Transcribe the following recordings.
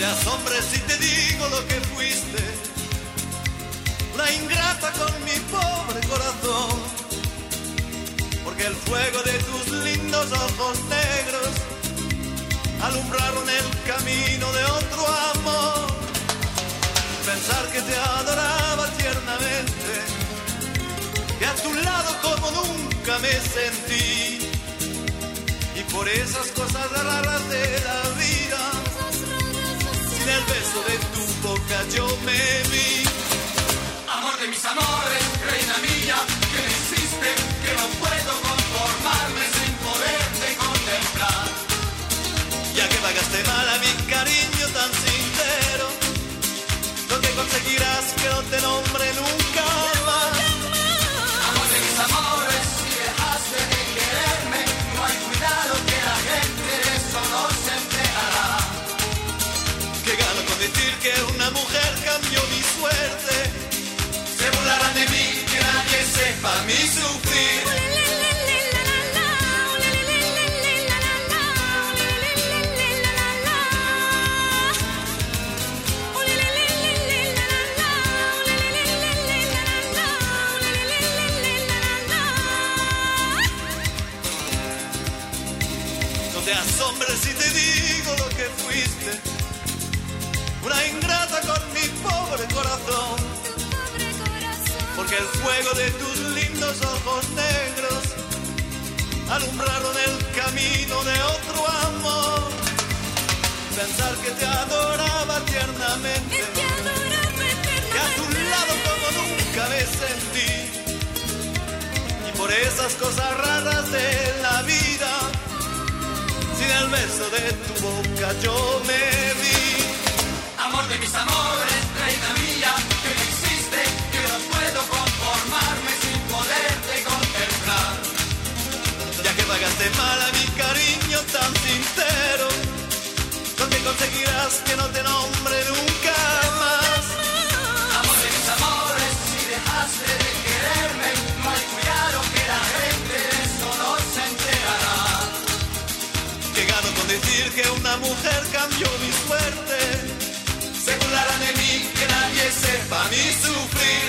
te asombres si te digo lo que fuiste, una ingrata con mi pobre corazón, porque el fuego de tus lindos ojos negros alumbraron el camino de otro amor. Pensar que te adoraba tiernamente, que a tu lado como nunca me sentí, y por esas cosas raras de la vida, sin el beso de tu boca yo me vi. Amor de mis amores, reina mía, que me hiciste, que no puedo conformarme sin poderte contemplar. Ya que pagaste mal a mi cariño tan sincero, lo que conseguirás que no te nombre nunca más. Amor de mis amores, si dejaste de quererme, no hay cuidado que la gente de eso no se enterará. Que gano con decir que una mujer cambió mi suerte, se burlarán de mí, que nadie sepa mi sufrir. te asombres si te digo lo que fuiste, una ingrata con mi pobre corazón, porque el fuego de tus lindos ojos negros alumbraron el camino de otro amor. Pensar que te adoraba tiernamente, que a tu lado como nunca me sentí, y por esas cosas raras de la vida, sin el beso de tu boca yo me vi. Amor de mis amores, reina mía, que me hiciste, que no puedo conformarme sin poderte contemplar. Ya que pagaste mal a mi cariño tan sincero, lo que conseguirás que no te nombre nunca más. Amor de mis amores, si dejaste de quererme, no hay cuidado que la gente de eso no se enterará. Que gano con decir que una mujer cambió mi suerte, se burlarán de mí, que nadie sepa mi sufrir.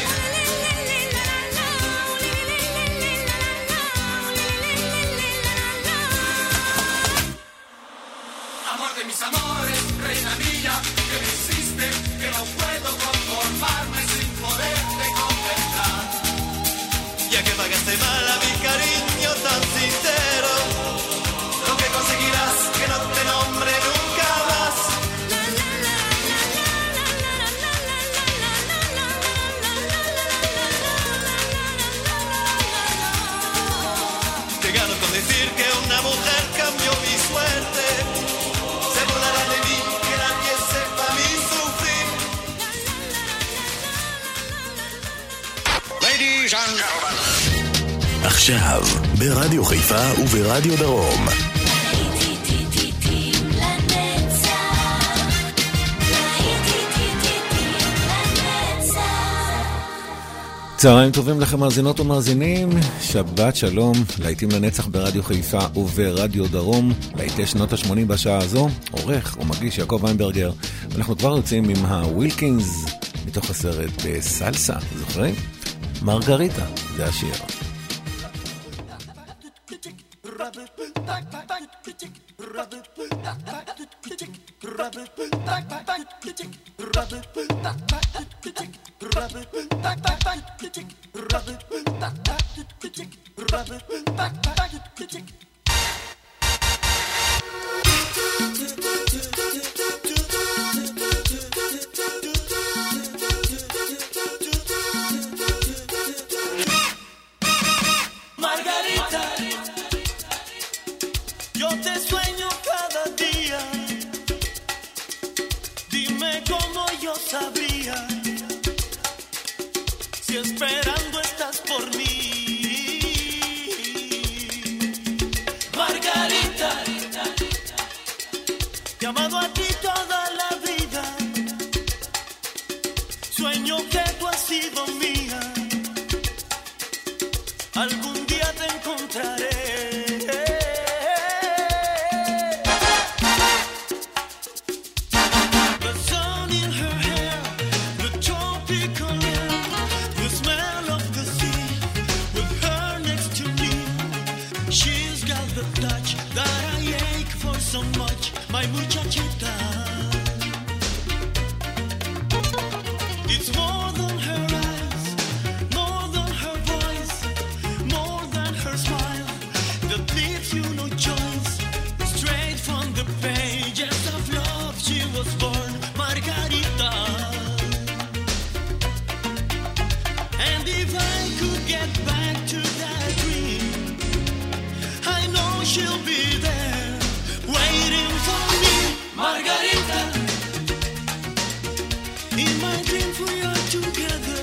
Amor de mis amores, reina mía, que me hiciste, que no puedo conformarme sin poderte contemplar. Ya que pagaste mal a mi cariño tan sincero, lo que conseguirás que no te nombre nunca más. Que gano con decir que una mujer cambió mi suerte, se burlará de mí, que nadie sepa mi sufrir. Ladies and gentlemen. עכשיו, ברדיו חיפה וברדיו דרום. צהריים טובים לכם מאזינות ומאזינים, שבת שלום, להיטים לנצח ברדיו חיפה וברדיו דרום, להיטי שנות ה-80 בשעה הזו, עורך ומגיש יעקב ויינברגר, ואנחנו כבר יוצאים עם הווילקינס מתוך הסרט סלסה, זוכרים? מרגריטה, זה השיר. Yo touch that I ache for so much, my muchachita. It's more than her eyes, more than her voice, more than her smile that leaves you no choice. Straight from the pages of love she was born, Margarita. And if I could get back to that dream, I know she'll be there waiting for me, Margarita. In my dreams we are together,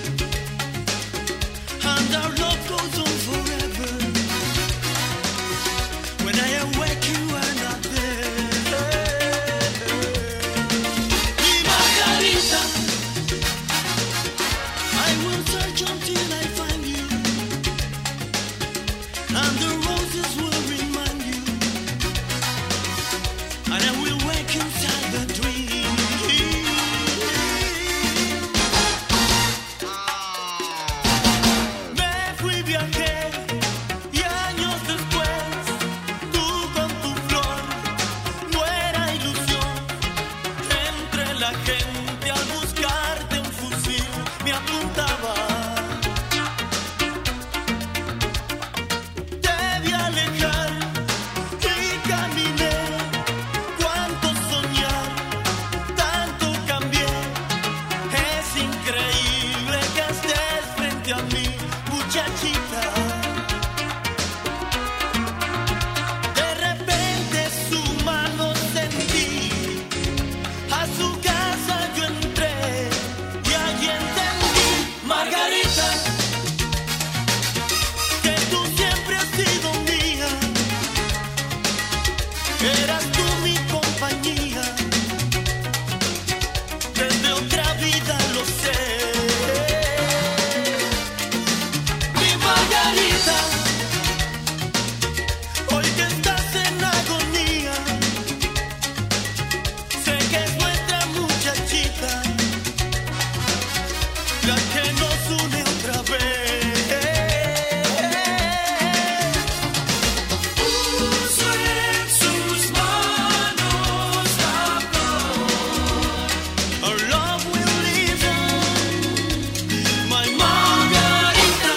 and our love goes on forever. When I awake you are not there. Mi Margarita, I will search until I find you, and the roses will remind you, and I will wake inside the dream. Me fui, viajé, y años después, tú con tu flor, no era ilusión. Entre la gente al buscarte un fusil me apuntaba. Debí alejar y caminé. Cuánto soñar, tanto cambié. Es increíble que estés frente a mí, muchachita. De repente su mano sentí, a su casa yo entré y allí entendí, Margarita, que tú siempre has sido mía. Eras tú mi compañía, desde otra vida lo sé. Mi Margarita, hoy que estás en agonía, sé que es nuestra muchachita la que nos une otra vez. Puso en sus manos la flor. Our love will live on, my Margarita.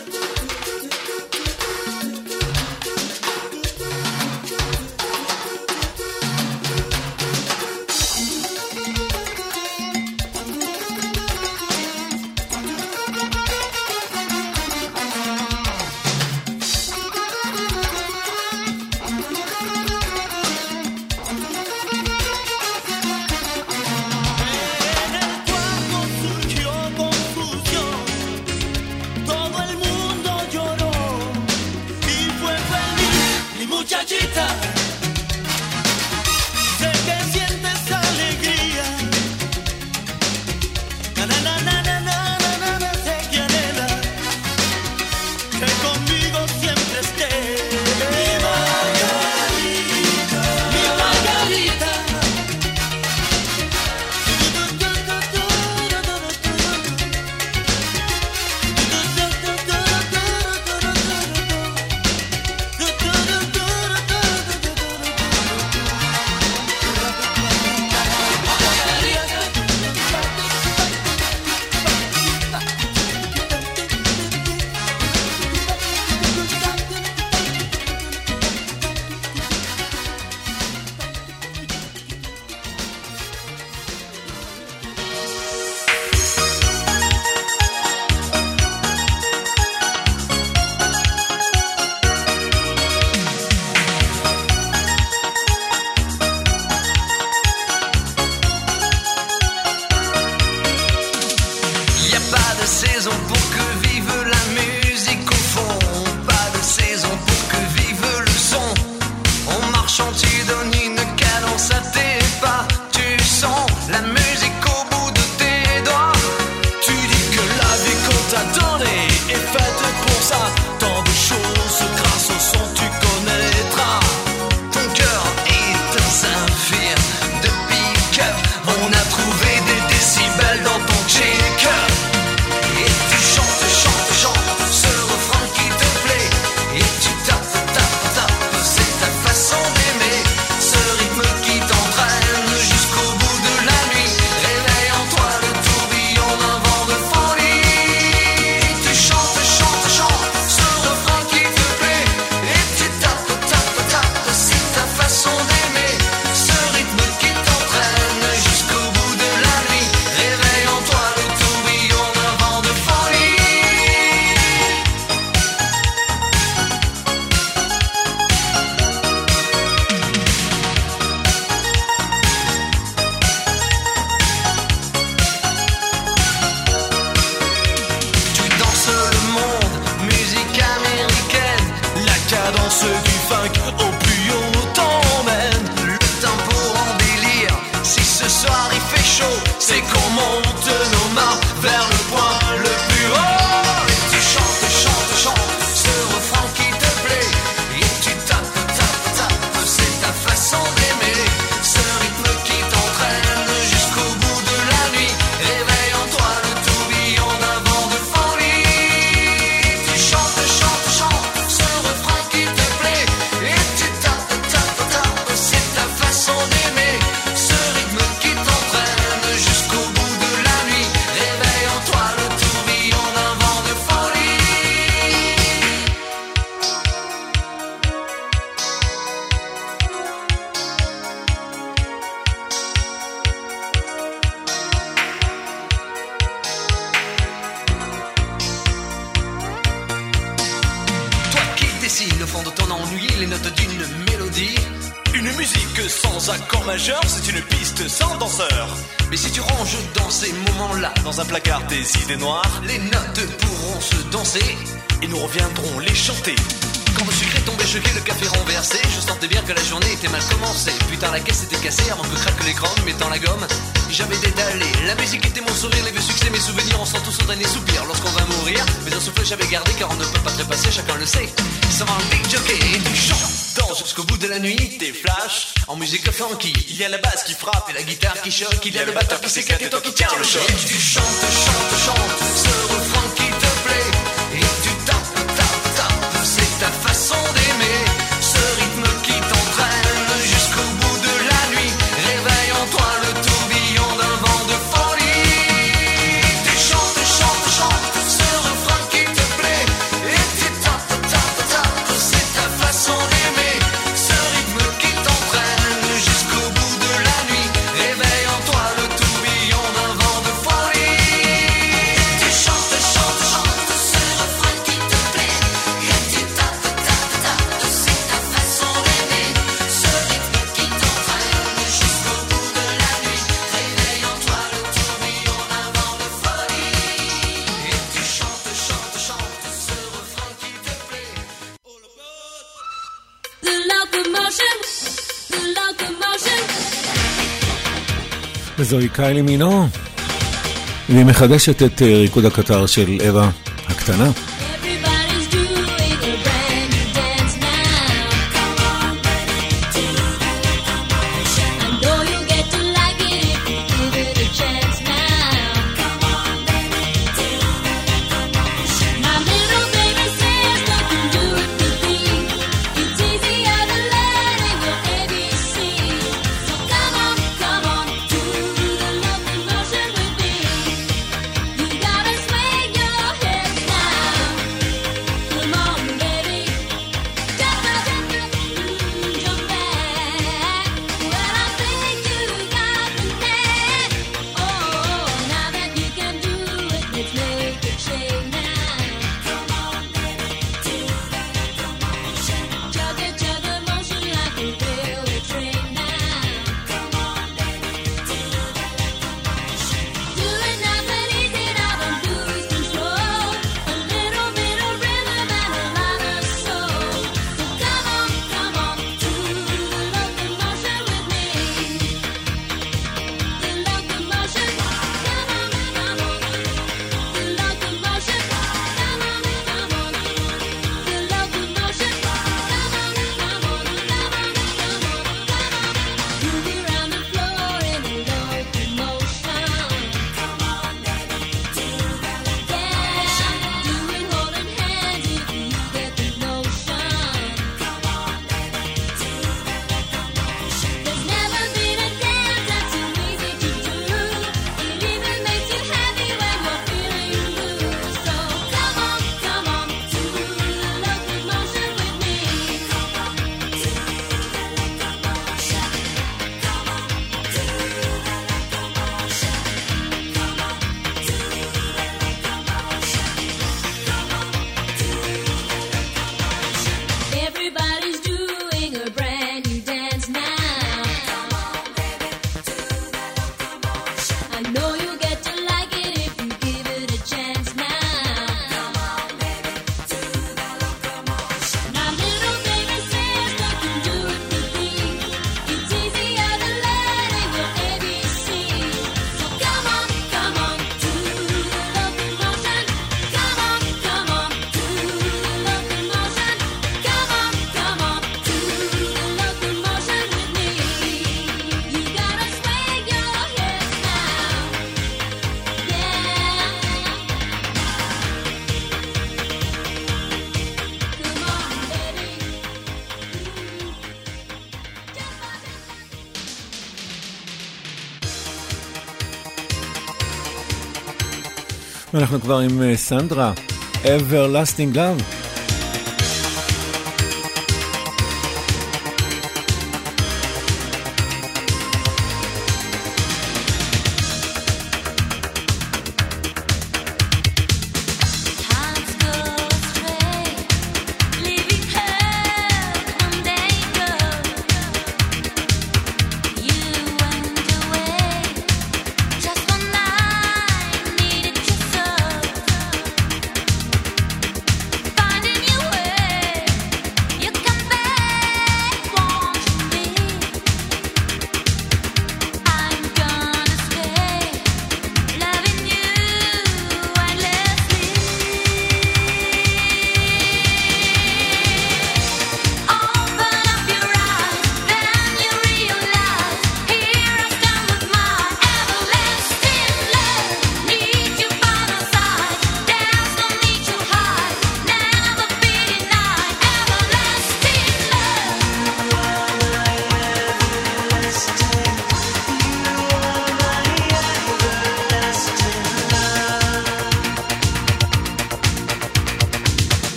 En el cuarto surgió confusión, todo el mundo lloró y fue feliz, mi muchachita. Sé que sientes alegría, na na na na na na na na, sé que anhelas que conmigo siempre estés. Mi Margarita, mi Margarita. notes d'une mélodie. Une musique sans accord majeur, c'est une piste sans danseur. Mais si tu ranges dans ces moments-là dans un placard des idées noires, les notes pourront se danser et nous reviendrons les chanter. Quand le sucre est tombé, choqué, le café renversé, je sentais bien que la journée était mal commencée. Putain, la caisse était cassée avant que craque l'écran, mettant la gomme. J'avais détalé, la musique était mon sourire, les vieux succès, mes souvenirs, on sent tous son dernier soupir lorsqu'on va mourir. Mais un souffle j'avais gardé car on ne peut pas trépasser, chacun le sait. Ça va un big jockey et tu chantes jusqu'au bout de la nuit. Des flashs en musique funky, il y a la basse qui frappe et la guitare qui choque, il y a le batteur qui s'éclate et toi qui tiens le choc. Et tu chantes, chantes, chantes ce refrain qui te plaît et tu tapes, tapes, tapes, c'est ta façon d'aimer. Ce rythme qui t'entraîne jusqu'au bout de la nuit, réveille en toi le tourbillon d'un vent de folie. Tu chantes, chantes, chantes ce refrain qui te plaît et tu tapes, tapes, tapes, c'est ta façon d'aimer. Ce rythme qui t'entraîne jusqu'au bout de la nuit, réveille en toi le tourbillon d'un vent de folie. Tu chantes, chantes, chantes ce refrain qui te plaît et tu tapes, tapes, tapes, c'est ta façon d'aimer. Ce rythme qui t'entraîne jusqu'au bout de la nuit, réveille en toi le tourbillon d'un vent de folie. Et tu chantes, chantes, chantes ce refrain qui te plaît. The locomotion, the locomotion. וזוהי קיילי מינו, והיא מחדשת את ריקוד הקטר של אווה הקטנה. Everybody's doing a brand new dance now. Come on, baby, do the locomotion. I know you get to like it if you give it a chance now. Come on, baby, do the locomotion. My little baby says I can do it with me. It's easier than learning your ABC. So come on, do the locomotion with me. You gotta swing your hips now. Come on, baby, jump back. Well, I think you got the knack. Oh, now that you can do it, let's make a change now. Come on, baby, do the locomotion. Chug a motion like a railway train now. Come on, baby, do the locomotion. Do it nice and easy now, don't lose control. A little bit of rhythm and a lot of soul. So come on, do the locomotion with me. The locomotion, come on, the locomotion, come on, the locomotion, move around the floor in the locomotion. Come on, baby, do the locomotion. Do it holding hands if you get the notion. Come on, baby, do the locomotion. There's never been a dance that's too easy to do. It even makes you happy when you're feeling blue. So come on, do the locomotion with me. Come on, do the locomotion. Come on, do the locomotion. Come on, do the locomotion. Come on, do the locomotion. Everybody's doing a brand new dance now. Come on, baby, do the locomotion. I know you get to like it if you give it a chance now. Come on, baby, do the locomotion. My little baby says I can do it with me. It's easier than learning your ABC. So come on, do the locomotion. Come on, do the locomotion. Come on, do the locomotion with me. You gotta swing your hips now. Yeah. Come on, baby. ואנחנו כבר עם סנדרה, Everlasting Love. Hearts go astray, leaving her from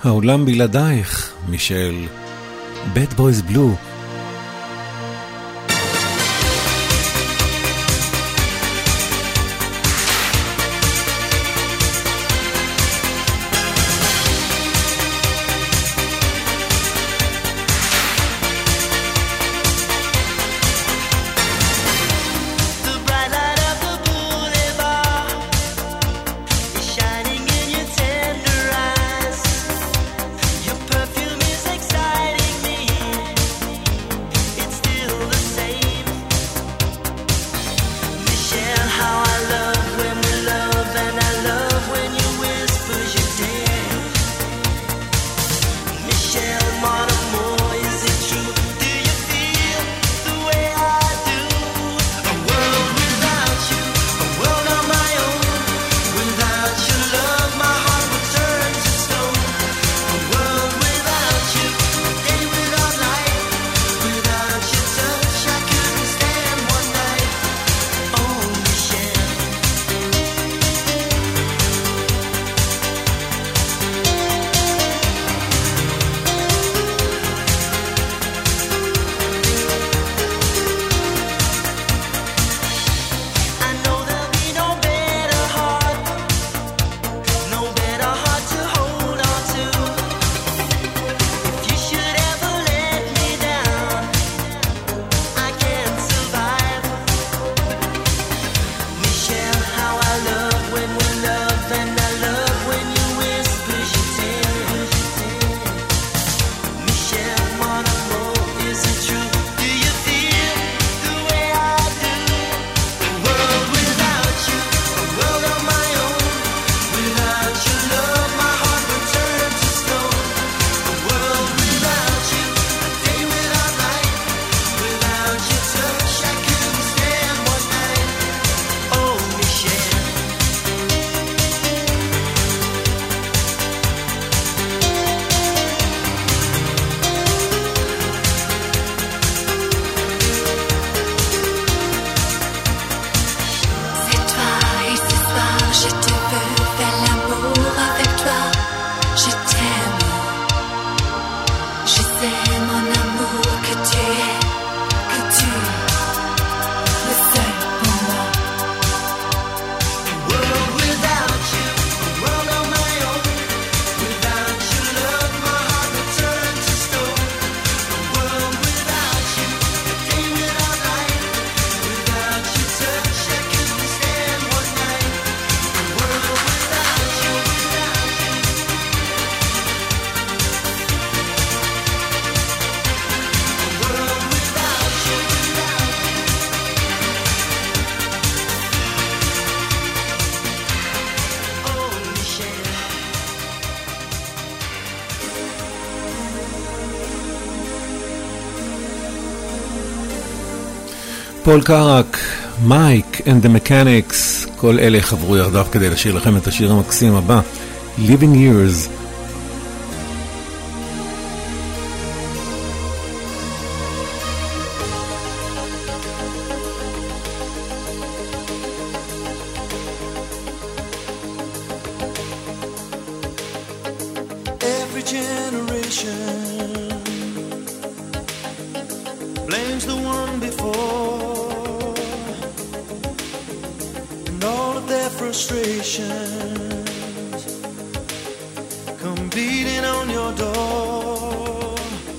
העולם בלעדייך, מישל. Bad Boys Blue. פול קארק, מייק and the Mechanics, כל אלה חברו יחדיו כדי לשיר לכם את השיר המקסים הבא, Living Years. Every generation blames the one before, and all of their frustrations come beating on your door.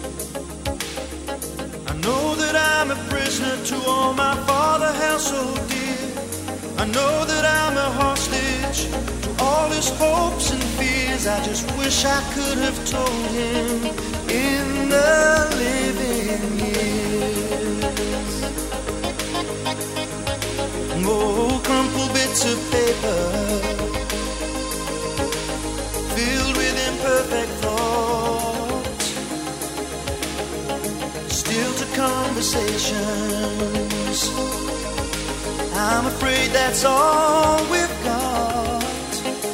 I know that I'm a prisoner to all my father held so dear. I know that I'm a hostage to all his hopes and fears. I just wish I could have told him in the living years. Oh, crumpled bits of paper filled with imperfect thoughts, still to conversations. I'm afraid that's all we've got.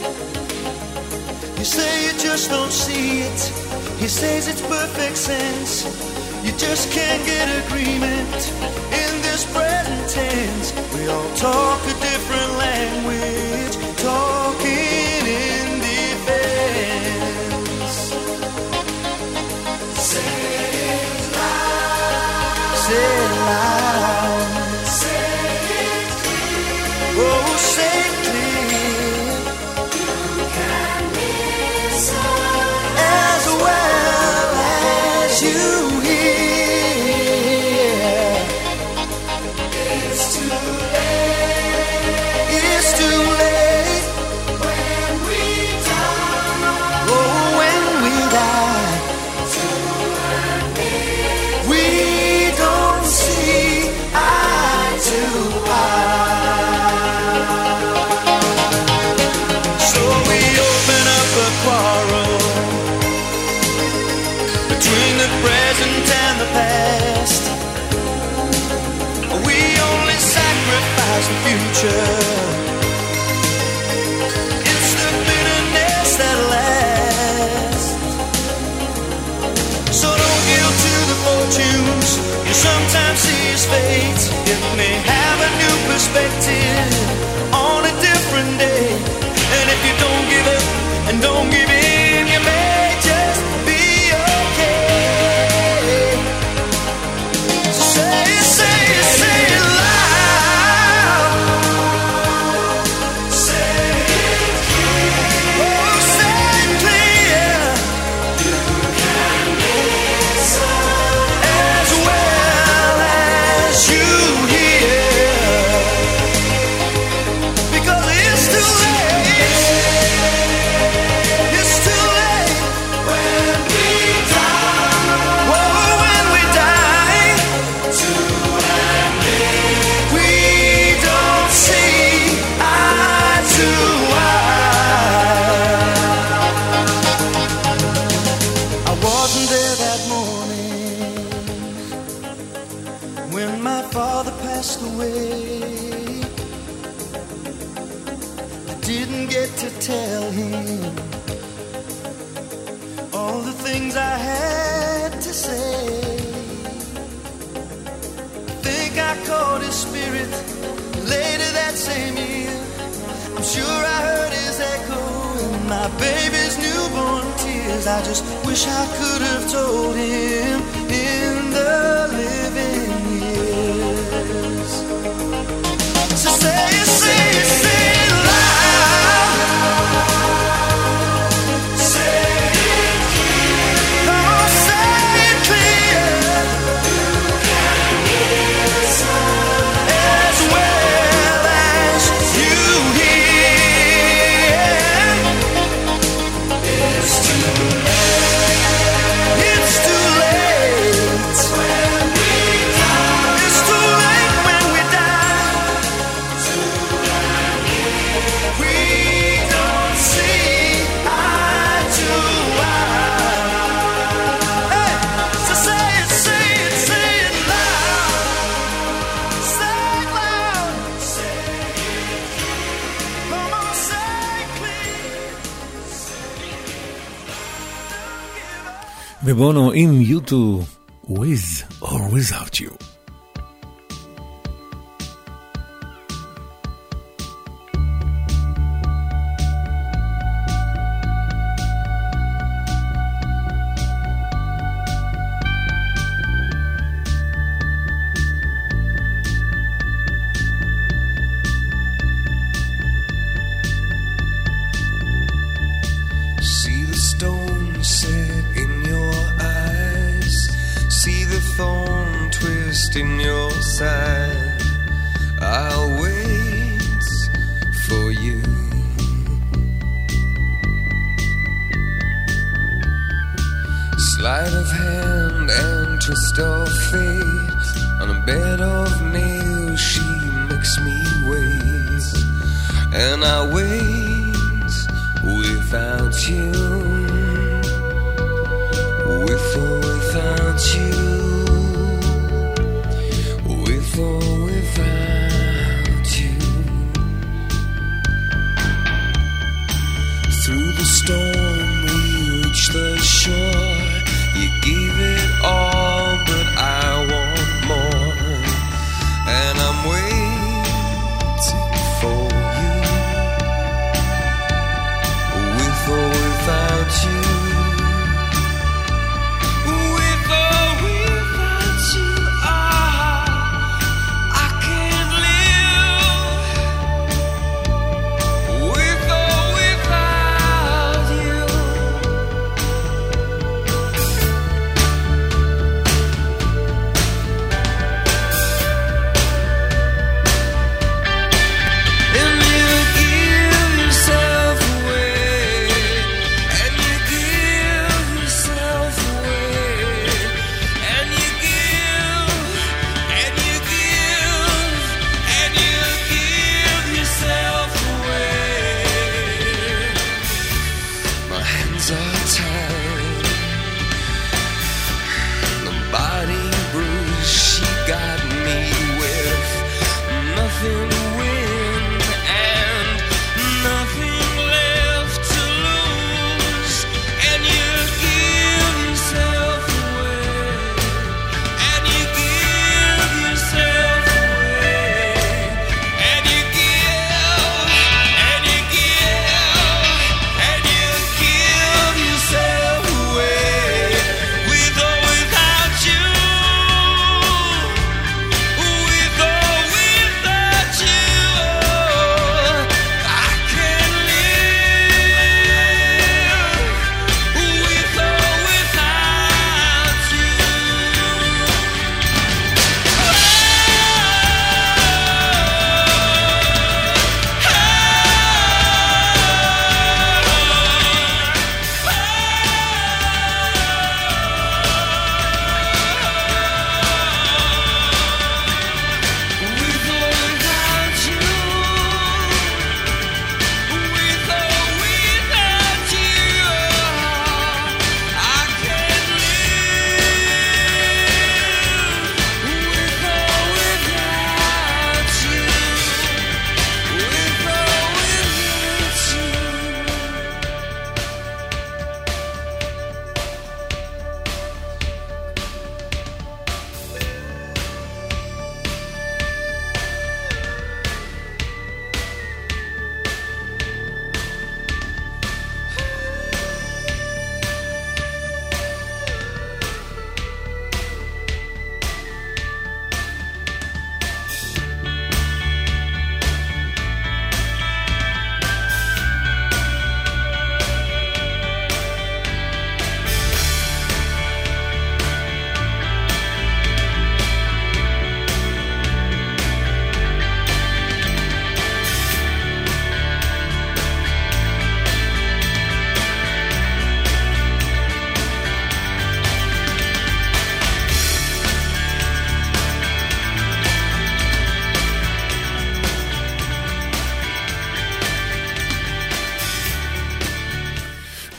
You say you just don't see it. He says it's perfect sense. You just can't get agreement in this present tense. We all talk a different language, talking in defense. say clear. You can listen as well as you hear. It's too late. It's too late when we die. Oh, when we die. We don't see eye to eye. So we open up a quarrel between the present and the past. We only sacrifice the future. It's the bitterness that lasts. So don't yield to the fortunes you sometimes see as fate. It may have a new perspective on a different day. And if you don't give up and don't give in, you may just be okay. So say it, say it, say it loud. Say it clear. Oh, say it clear. You can listen as well as you hear. Because it's too late. It's too late when we die. Whoa, when we die. We don't see eye to eye. I wasn't there that morning when my father passed away. I didn't get to tell him all the things I had to say. I think I caught his spirit later that same year. I'm sure I heard his echo in my baby's newborn tears. I just wish I could have told him in the living years. So say it, say it, say it loud. Say it clear. Come on, say it clear. As well as you hear. It's too late. It's too late when we die. It's too late when we die. We don't see eye to eye. Hey, so say it, say it, say it loud. Say it loud. Say it clear. Come on, say it clear. ובונו עם U2, With or Without You. See the stone set in your eyes. See the thorn twist in your side. I'll wait for you. Sleight of hand and twist of fate. On a bed of nails she makes me wait. And I wait without you. With or without you. With or without you. Through the storm we reach the shore. You gave it all, but I want more. And I'm waiting for you. With or without you. With or without you. I can't live.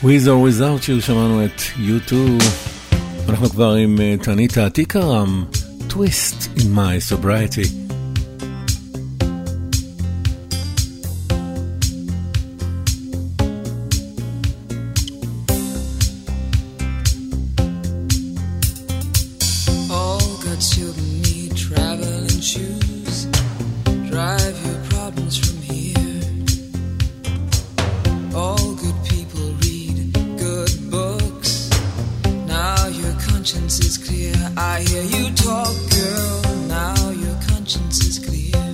With or Without You, שמענו את U2. אנחנו כבר עם תניתה תיקרם, Twist in My Sobriety. All God's children need traveling shoes. Drive your problems from here. All good people read good books. Now your conscience is clear. I hear you talk, girl. Now your conscience is clear.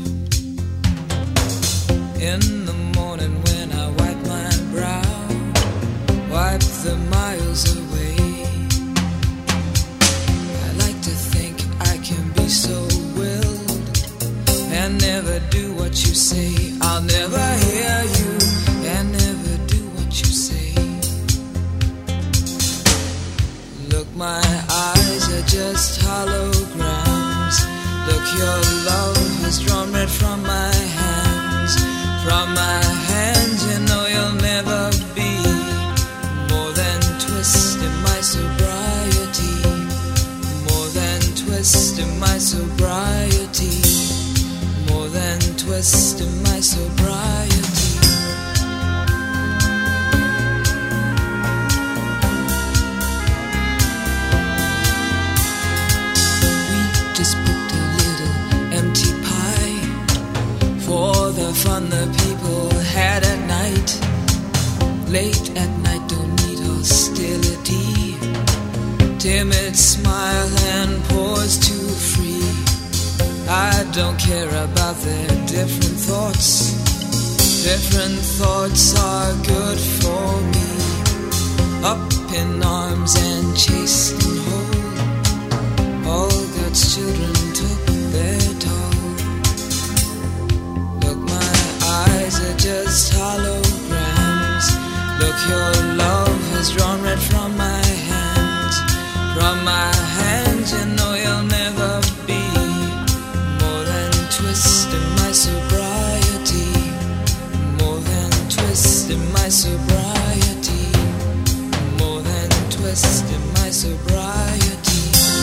In the morning when I wipe my brow, wipe the miles away. I like to think I can be so willed and never do what you say. I'll never hear you and never do what you say. Look, my eyes are just holograms. Look, your love has drawn red from my hands. From my hands, you know you'll never be more than twist in my sobriety. More than twist in my sobriety. More than twist in my sobriety. We just booked a little empty pie for the fun the people had at night. Late at night, don't need hostility. Timid smile and pause too free. I don't care about their different thoughts. Different thoughts are good for me. Up in arms and chased and whole. All God's children took their toll. Look, my eyes are just holograms. Look, your love has drawn red from my hands. From my hands, you know you'll never be more than twist in my sobriety. More than twist in my sobriety. More than twist in my sobriety.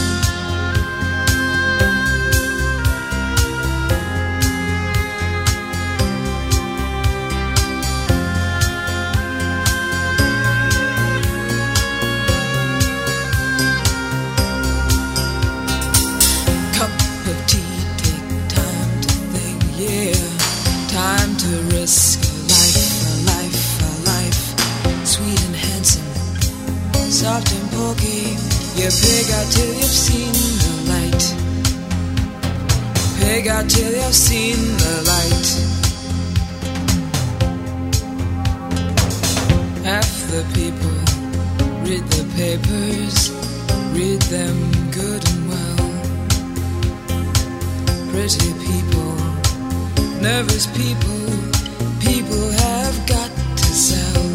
Cup of tea, take time to think, yeah. Time to risk a life, a life, a life. Sweet and handsome, soft and pokey. You pig out till you've seen the light. Pig out till you've seen the light. Half the people read the papers, read them good and well. Pretty people, nervous people, people have got to sell.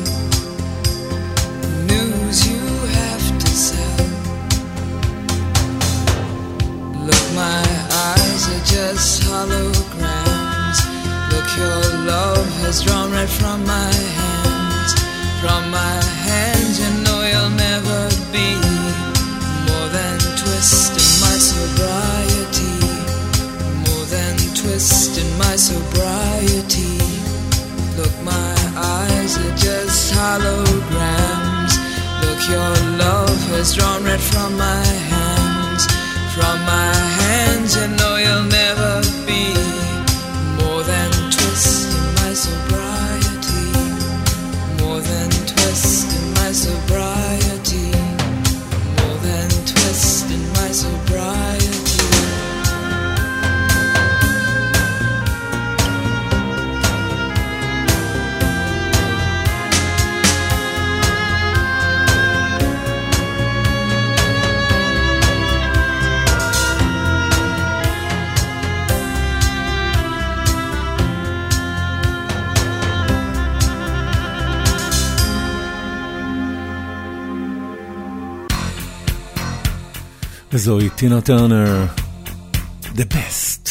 News you have to sell. Look, my eyes are just holograms. Look, your love has drawn red from my hands. From my hands, you know you'll never be more than twist in my sobriety. More than twist in my sobriety. Look, my eyes are just holograms. Look, your love has drawn red from my hands. From my hands, you know you'll never be more than twist in my sobriety. More than twist in my sobriety. More than twist in my sobriety. וזוהי טינה טרנר, The Best.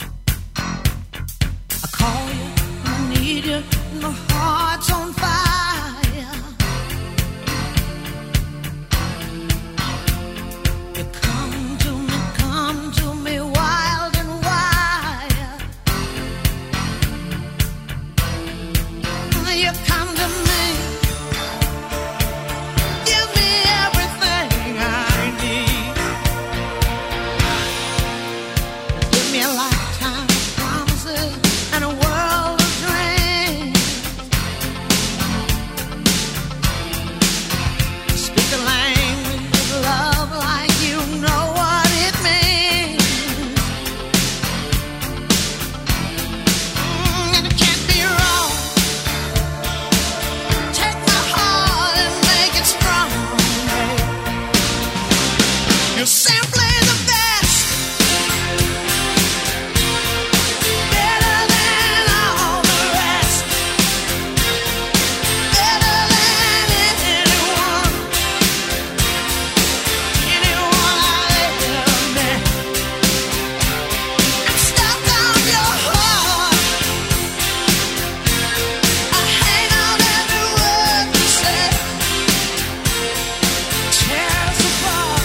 I call you, I need you, my heart's on fire. and it can't be wrong. Take my heart and make it strong. You're simply the best, better than all the rest, better than anyone I ever met. I'm stuck on your heart, I hang on every word you say, tears apart.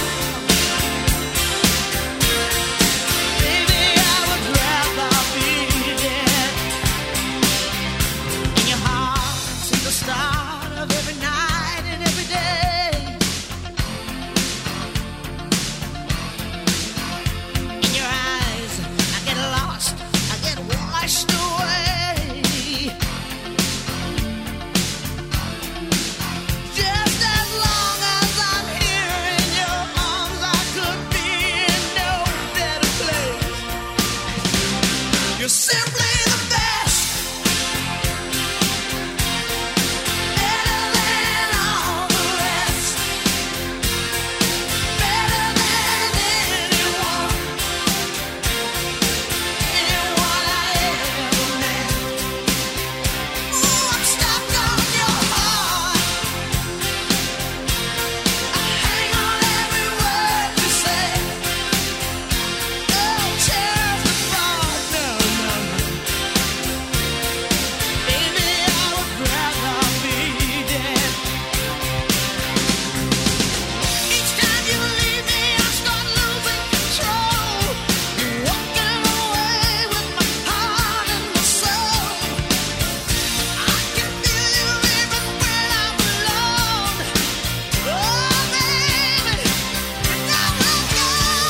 Baby, I would rather be dead. In your heart, see the start of every night and every day. In your eyes, I get lost, I get washed away. Just as long as I'm here in your arms, I could be in no better place. You're simply the best, better than all the rest, better than anyone I ever met. Ooh, I'm stuck on your heart, I hang on every word you say. Oh, tears apart, no, no, no. Baby, I would rather be dead. Each time you leave me, I start losing control. You're walking away with my heart and my soul. I can feel you even when I'm alone. Oh, baby, now I go.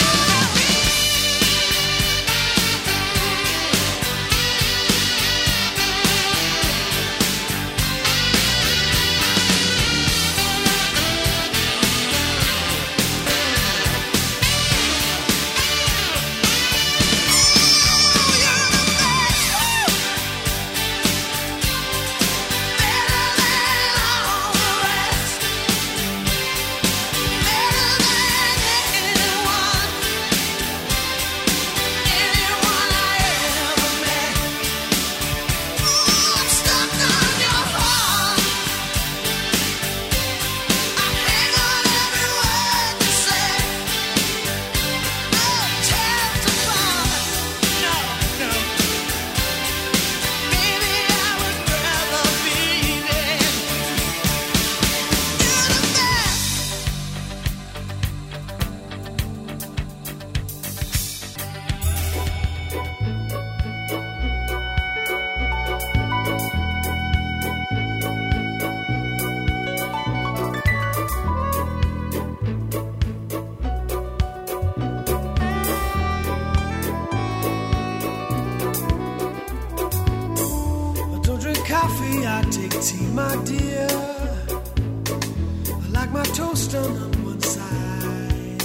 I don't drink coffee, I take tea, my dear. I like my toast done on one side.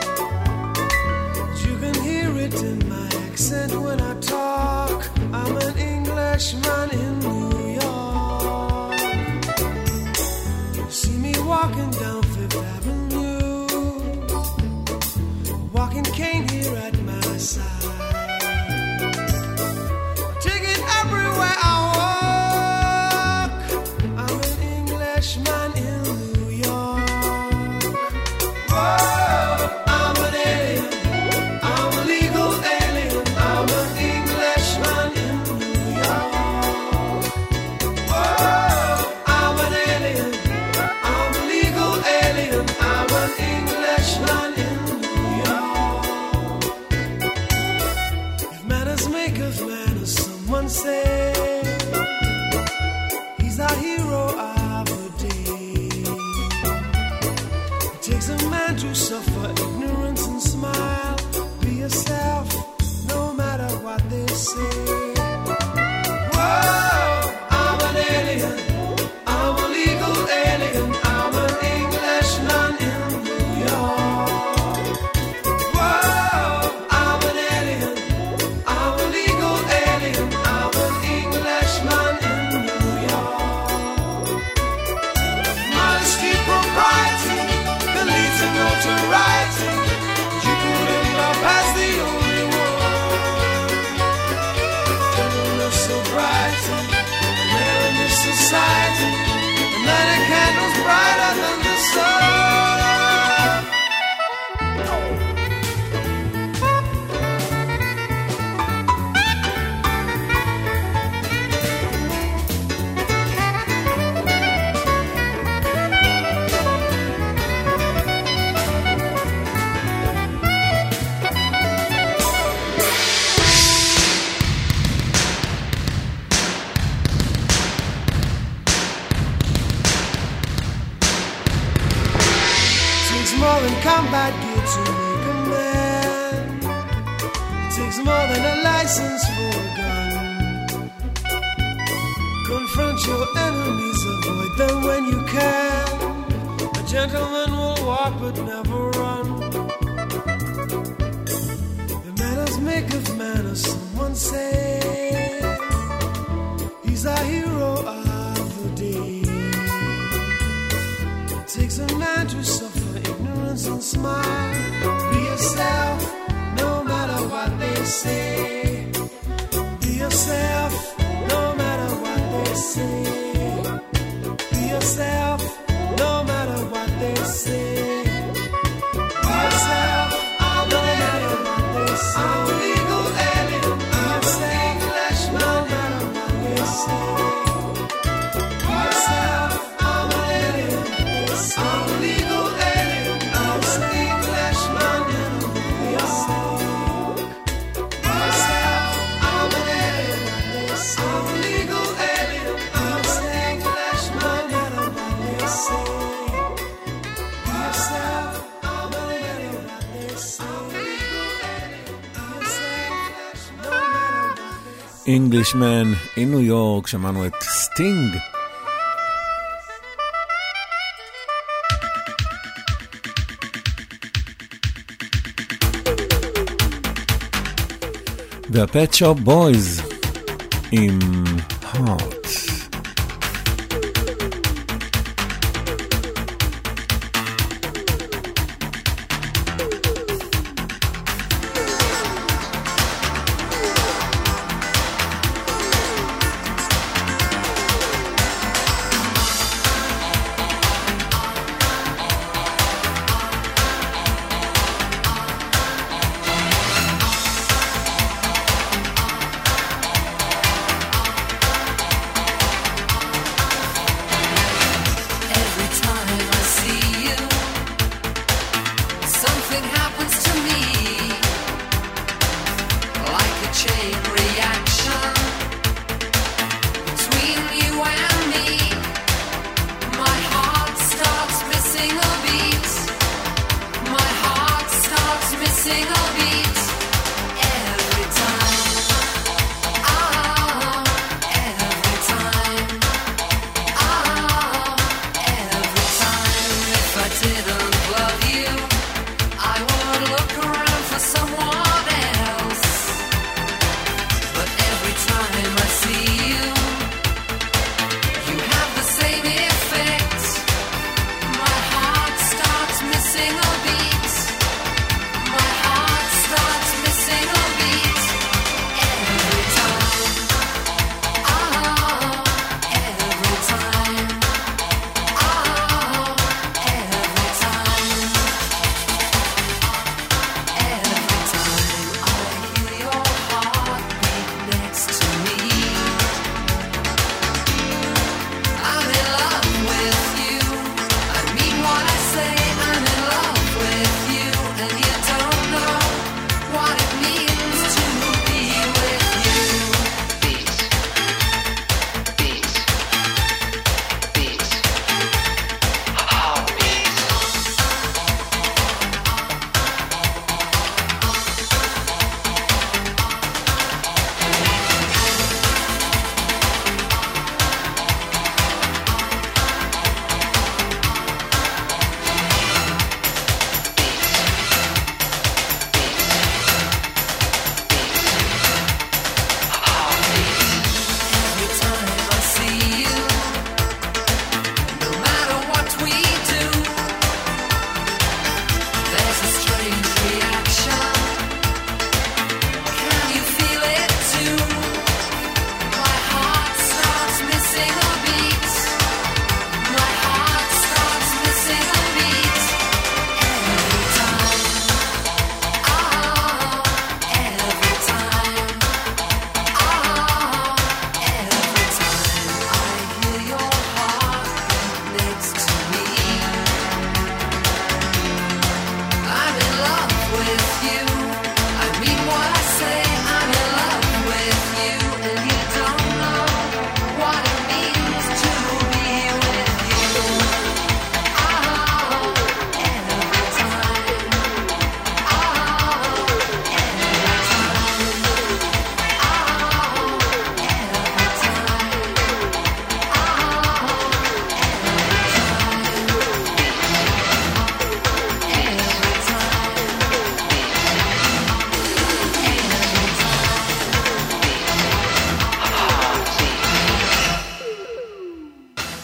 You can hear it in my accent when I talk. I'm an Englishman in New York. You see me walking down Fifth Avenue, a walking cane here at my side. Take it everywhere I walk. I'm an Englishman in New York. Whoa, I'm an alien. I'm a legal alien. I'm an Englishman in New York. There in this society, and many candles brighter than the sun. More than combat gear to make a man. It takes more than a license for a gun. Confront your enemies, avoid them when you can. A gentleman will walk but never run. The manners maketh manners, someone say. He's a hero of the day. It takes a man to suffer ignorance and smile. Be yourself, no matter what they say. Be yourself, no matter what they say. Be yourself, no matter what they say. Be yourself, no matter what they say. I'm a legal alien. Be yourself, no matter what they say. Be yourself, I'm an alien. I'm a legal alien. Englishman in New York, שמענו את סטינג. והפט שופ בויז עם Heart.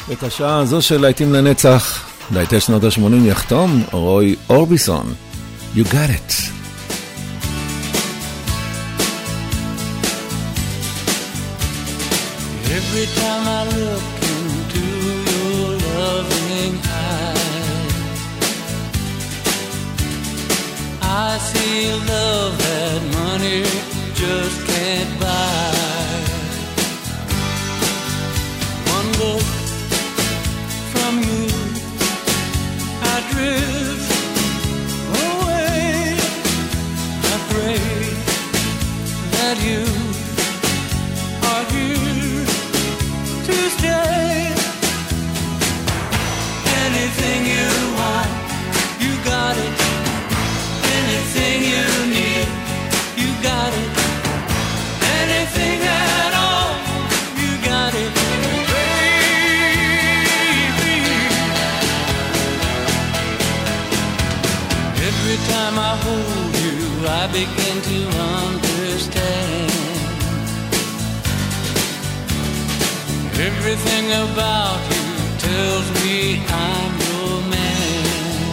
את השעה הזו של להיטים לנצח, להיטי שנות ה-80 יחתום רוי אורביסון. You got it. Every time I look into your loving eyes, I see love that money just can't buy. One look from you, I drift away. I pray that you are here to stay. Anything you want, you got it. Anything you need, you got it. Anything at all, you got it, baby. Every time I hold you, I begin to understand. Everything about you tells me I'm your man.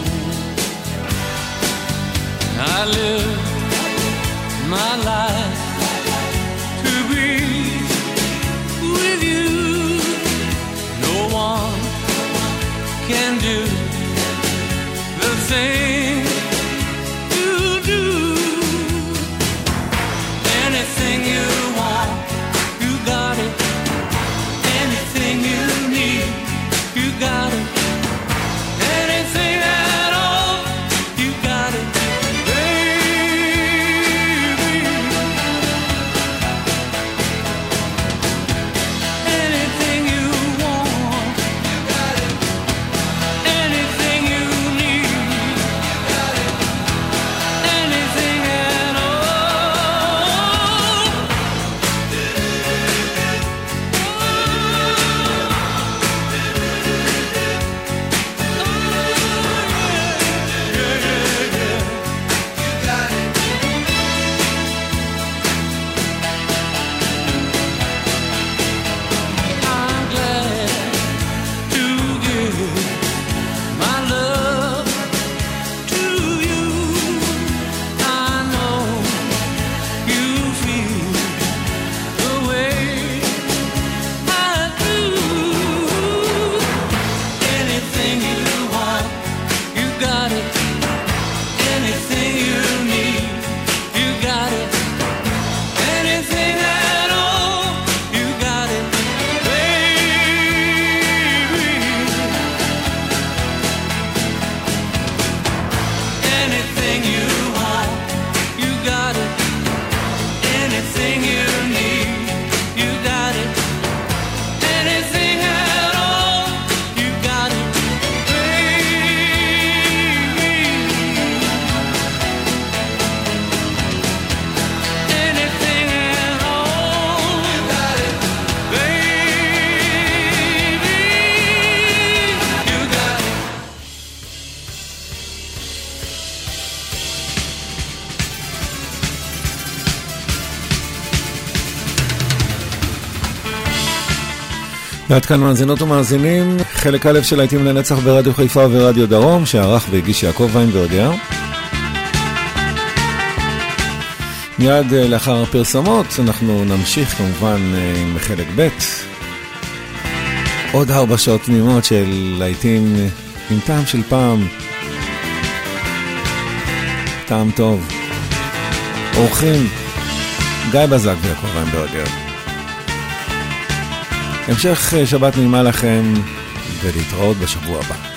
I live my life to be with you. No one can do the thing you do. Anything you want, you got it. Anything you need, you got it. Anything at all, you got it, baby. Anything you want, you got it. Anything you need, you got it. Anything at all. I'm glad to give my love to you. I know you feel the way I do. Anything you want, you got it. Anything you need, you got it. Anything at all, you got it, baby. Anything you want, you got it. Anything you need, you got it. Anything at all, you got it, baby. Anything at all, you got it, baby. You got it. ועד כאן מאזינות ומאזינים, חלק א' של להיטים לנצח ברדיו חיפה ורדיו דרום, שערך והגיש יעקב ויינברגר. מיד לאחר הפרסומות אנחנו נמשיך כמובן עם חלק ב', עוד 4 שעות תמימות של להיטים עם טעם של פעם, טעם טוב. אורחים גיא בזק ויעקב ויינברגר. המשך שבת נעימה לכם ולהתראות בשבוע הבא.